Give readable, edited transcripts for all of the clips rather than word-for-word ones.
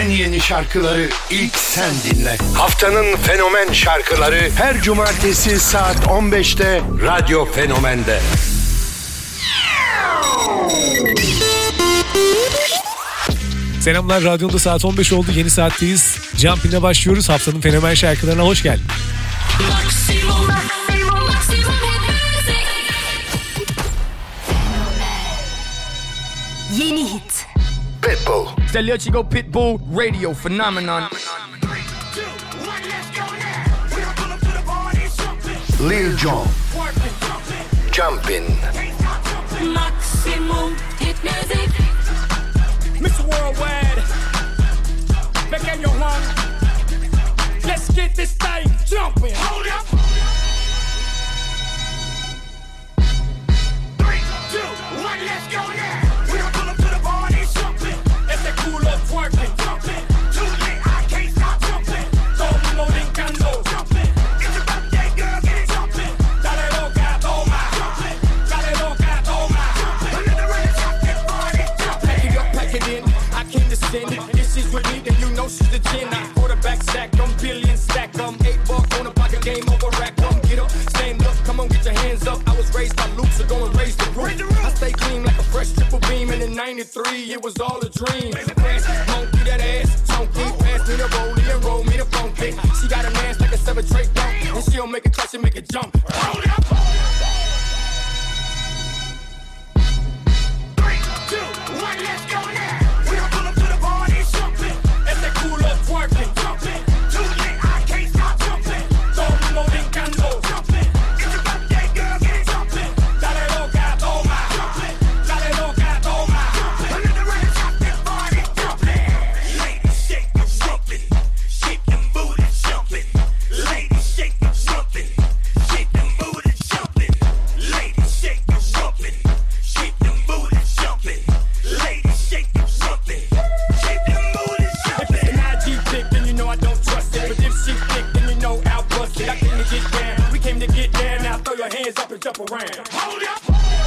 en yeni şarkıları ilk sen dinle. Haftanın fenomen şarkıları her cumartesi saat 15'te Radyo Fenomen'de. Selamlar, radyonda saat 15 oldu. Yeni saatteyiz. Jumpin'e başlıyoruz. Haftanın fenomen şarkılarına hoş geldin. Yeni hit. Pitbull. Stelio Chico Pitbull Radio Phenomenon. Lil Jon. Jumpin'. Maximum hit music. Mr. Worldwide. Back in your home. Let's get this thing jumping. Hold up. 3, 2, 1, let's go now. We are pull up to the party jumping. It's that cool up twerking jumping. Too late, I can't stop jumping. Todo mundo brincando jumping. It's a birthday girl, get it jumping. Dale loca, toma jumping. Dale loca, toma jumping. Another round of this party jumping. Pack it up, pack it in. I came to sin. If she's with me, then you know she's the gin. I quarterback sack, I'm billion stack, I'm 8 buck on a pocket game over rack. Come get up, stand up, come on, get your hands up. I was raised by Luke, so go and raise the roof. I stay clean like a fresh triple beam, and in '93 it was all a dream. Monkey that ass, chunky, pass me the rollie and roll me the funky. She got an ass like a 7 tray dunk, and she don't make it clutch and make it jump. Hold up. 3, 2, 1, let's go now. We are pull up to the party jumping. It's that cool up twerking jumping. Too late, I can't stop jumping. Todo mundo brincando jumping. It's a birthday girl, get it jumping. Dale loca, toma jumping. Dale loca, toma jumping. Another round of this party jumping. Ladies shake them jumping. Shake them booties jumping. Ladies shake them jumping. Shake them booties jumping. Ladies shake them jumping. Shake them booties jumping. Ladies shake them jumping. Shake them booties jumping. If it's an IG pic, then you know I don't trust it. But if she thick, then you know I'll bust it. I came to get down. We came to get down. Now throw your hands up and jump around. Hold up.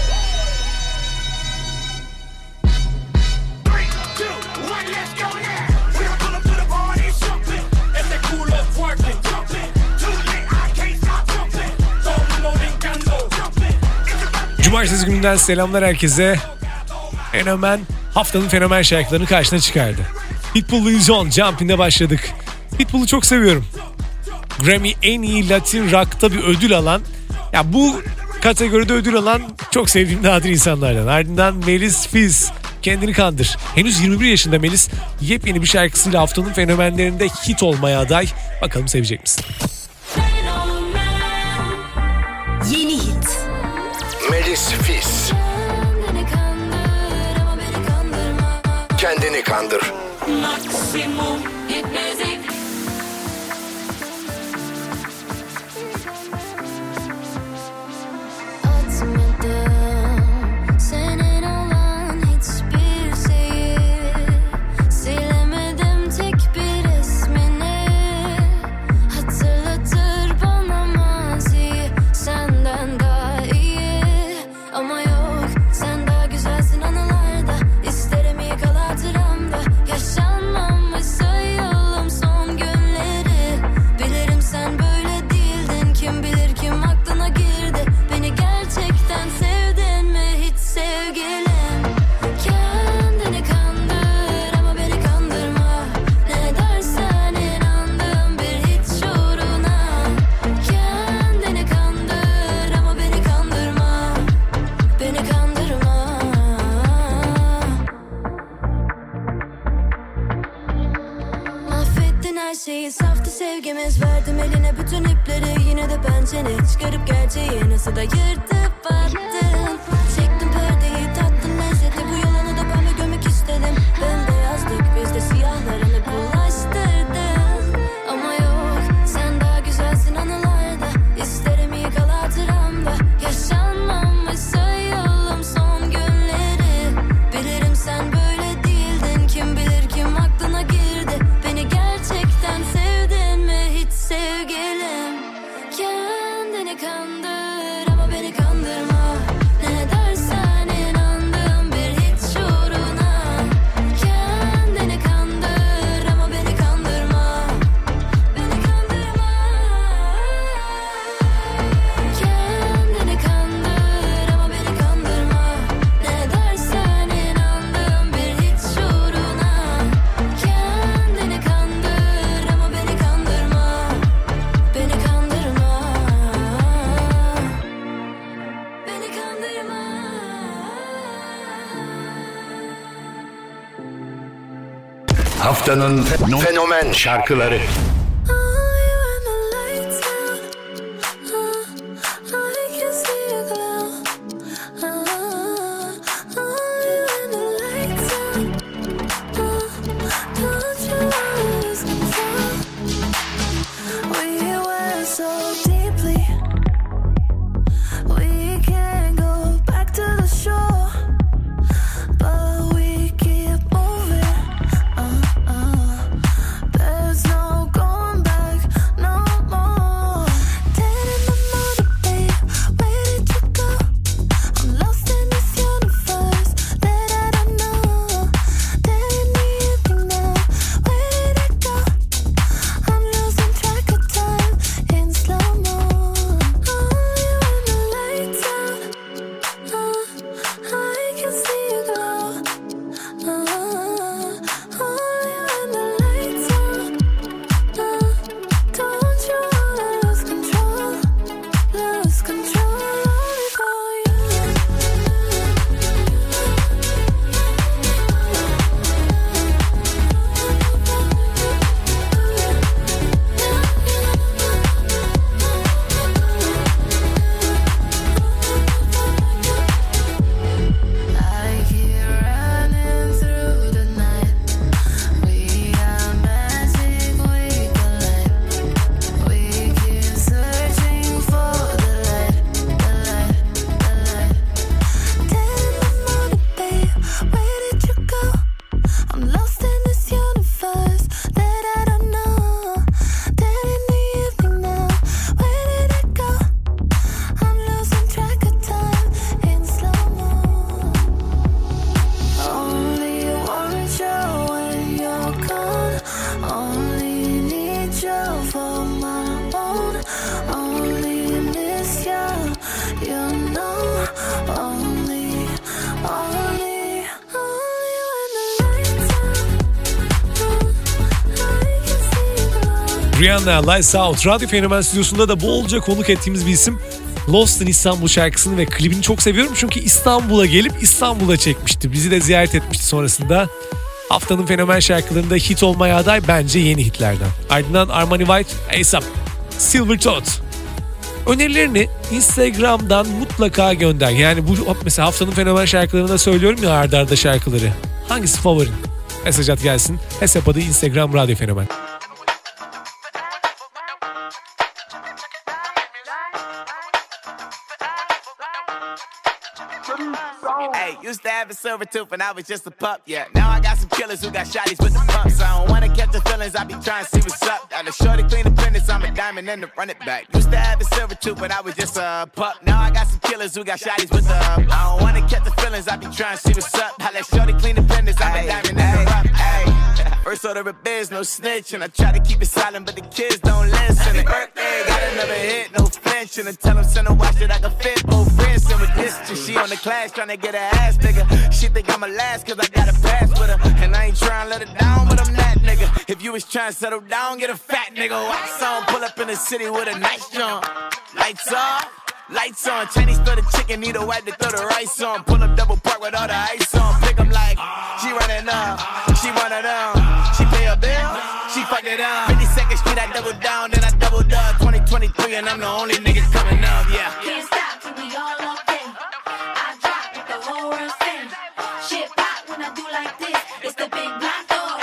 3, 2, 1, let's go now. We are pull up to the party jumping. It's that cool up twerking jumping. Too late, I can't stop jumping. Todo mundo brincando jumping. It's a birthday. Cumartesi gününden selamlar herkese. Fenomen haftanın fenomen şarkılarını karşına çıkardı. Pitbull, Lil Jon, Jumpin'de başladık. Pitbull'u çok seviyorum. Grammy en iyi Latin rock'ta bir ödül alan, ya bu kategoride ödül alan çok sevdiğim nadir insanlardan. Ardından Melis Fizz, Kendini Kandır. Henüz 21 yaşında Melis, yepyeni bir şarkısıyla haftanın fenomenlerinde hit olmaya aday. Bakalım sevecek misin? Yeni hit. Melis Fizz. Kendini Kandır. Maximum hit music. Atmadım senin olan hiçbir şeyi, silemedim tek bir resmini. Hatırlatır bana maziyi, senden daha iyi. Ama yok, sen daha güzelsin anılarda. İsterim yıkal hatıramda. Yaşanmamış sayalım son günleri. Bilirim sen böyle değildin, kim bilir kim aklına girdi. Beni gerçekten sevdin mi hiç sevgilim? Kendini kandır ama beni kandırma. Ne dersen inandığım bir hiç uğruna. Kendini kandır ama beni kandırma. Beni kandırma. Mahvettin her şeyi, saftı sevgimiz. Verdim eline bütün ipleri, yine de pençeni çıkarıp gerçeği nasıl da yırtıp attın. Çektim perdeyi, tattın lezzeti, bu yalanı da ben de gömmek istedim. Bembeyazdık biz de, siyahlarını bulaştırdın. Ama yok, sen daha güzelsin anılarda. İsterim yıkal hatıramda. Yaşanmamış sayalım son günleri. Bilirim sen böyle değildin, kim bilir kim aklına girdi. Beni gerçekten sevdin mi hiç sevgilim? Kendini kandır ama beni kandırma. Ne Haftanın fenomen şarkıları. Rihanna, Lights Out. Radyo Fenomen stüdyosunda da bolca konuk ettiğimiz bir isim. Lost in İstanbul şarkısını ve klibini çok seviyorum. Çünkü İstanbul'a gelip İstanbul'a çekmişti. Bizi de ziyaret etmişti sonrasında. Haftanın fenomen şarkılarında hit olmaya aday bence yeni hitlerden. Ardından Armani White, ASAP, Silver Thought. Önerilerini Instagram'dan mutlaka gönder. Yani bu mesela haftanın fenomen şarkılarında söylüyorum ya arda arda şarkıları. Hangisi favorin? Mesaj at gelsin. Hesap adı Instagram Radyo Fenomen. Hey, used to have a silver tooth when I was just a pup, yeah. Now I got some killers who got shotties with the pumps. I don't wanna catch the feelings, I be trying to see what's up. Got a shorty clean the pendants, I'm a diamond and to run it back. Used to have a silver tooth when I was just a pup. Now I got some killers who got shotties with the I don't wanna catch the feelings, I be trying to see what's up. I let shorty clean the pendants, I'm a diamond and to run it back. First order of biz, no snitch, and I try to keep it silent, but the kids don't listen. Happy birthday, got another hit, no flinch, and I tell them send a watch that I can fit both friends. And with this, she on the class trying to get her ass nigga. She think I'm a last cause I got a pass with her. And I ain't trying to let her down, but I'm that nigga. If you was trying to settle down, get a fat nigga. Wax on, pull up in the city with a nice jump. Lights off, lights on. Chinese throw the chicken, need a wipe to throw the rice on. Pull up double park with all the ice on. Pick 'em like, she running up, she one of them. She pay a bill, she fuck it up. 52nd Street, I double down, then I doubled up. 2023 and I'm the only nigga coming up, yeah. Can't stop till we all up in. I drop with the whole world spin. Shit pop when I do like this. It's the big black door.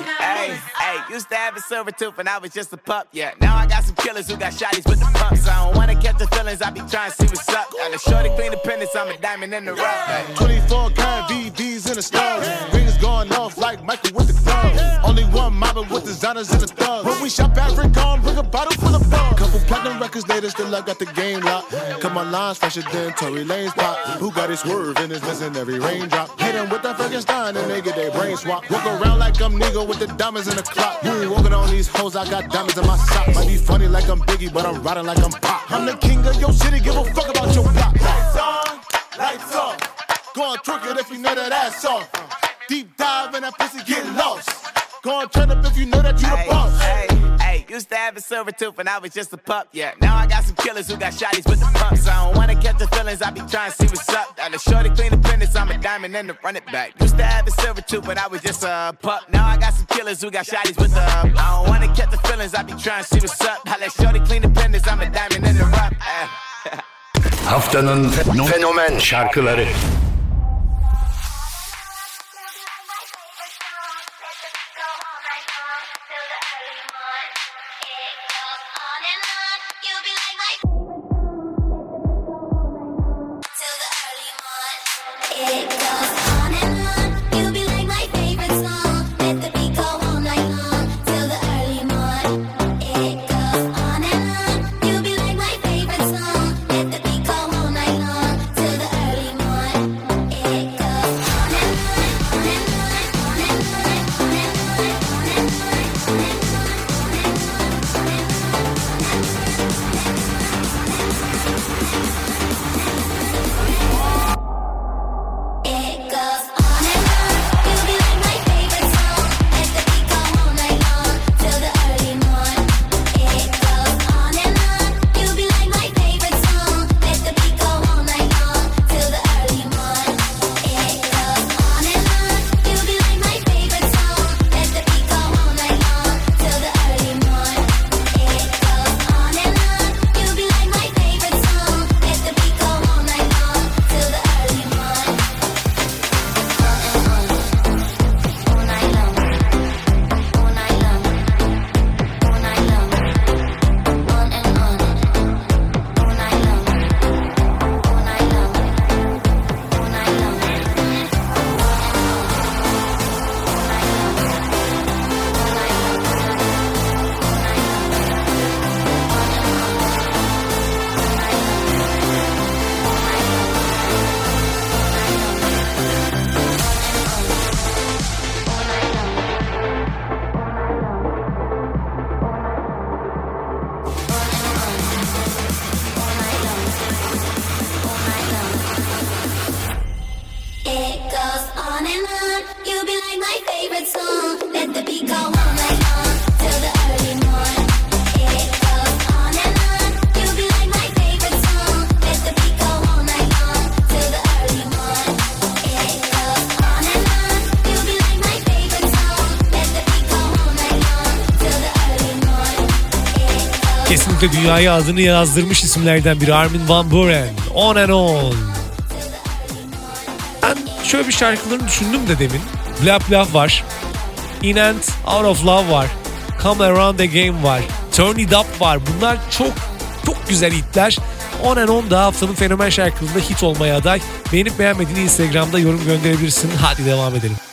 Hey, used to have a silver tooth when I was just a pup, yeah. Now I got some killers who got shotties with the pumps. I don't wanna catch the feelings, I be trying to see what's up. Got a shorty clean the pendants, I'm a diamond in the rough. Hey. 24 karat VVs in the stars. Rings going off like Michael with the thugs. Only one mobbing with designers in the thugs. When we shop Africa, bring a bottle full of bug. Couple platinum records later, still I got the game locked. Cut my lines fresher than Tory Lane's pop. Who got his swerve and is missing every raindrop. Hit him with that Frankenstein and they get their brain swap. Walk around like I'm Nigga with the diamonds in the clock. You ain't walking on these hoes, I got diamonds in my socks. Might be funny like I'm Biggie, but I'm riding like I'm Pop. I'm the king of your city, give a fuck about your block. Lights on, lights off. Go on, twerk it if you know that ass off. Deep dive and that pussy get lost. Go on, turn up if you know that you the boss. used to have a silver tooth when I was just a pup, yeah. Now I got some killers who got shotties with the pumps. I don't wanna catch the feelings, I be trying to see what's up. Now the shorty clean the fitness, I'm a diamond and to run it back. Used to have a silver tooth when I was just a pup. Now I got some killers who got shotties with the I don't wanna catch the feelings, I be trying to see what's up. Now let shorty clean the fitness, I'm a diamond and to run. Haftanın fenomen şarkıları. It goes on and on, you'll be like my favorite song. Let the beat go all night long, till the early morning. It goes on and on, you'll be like my favorite song. Let the beat go all night long, till the early morning. It goes on and on, on and on, on and on, on and on, on and on, on and It goes on and on, you'll be like my favorite song. Let the beat go all night long, till the early morning. It goes on and on, you'll be like my favorite song. Let the beat go all night long, till the early morning. It goes on and on, you'll be like my favorite song. Let the beat go all night long, till the early morning. It goes on and on, you'll be like my favorite song. Let the beat go all night long, till the early morning. It goes on and on, you'll be like my favorite song. Let the beat go all night long, till the early morning. It goes on and on, you'll be like my favorite song. Let the beat go all night long, till the early morning. It goes on and on, you'll be like my favorite song. Let the beat go all night long, till the early morning. It goes Kesinlikle dünyaya adını yazdırmış isimlerden biri Armin van Buuren. On and On. Ben şöyle bir şarkılarını düşündüm de demin. Blah Blah var. In and Out of Love var. Come Around Again var. Turn It Up var. Bunlar çok güzel hitler. On and On da haftanın fenomen şarkılarında hit olmaya aday. Beğenip beğenmediğini Instagram'da yorum gönderebilirsin. Hadi devam edelim.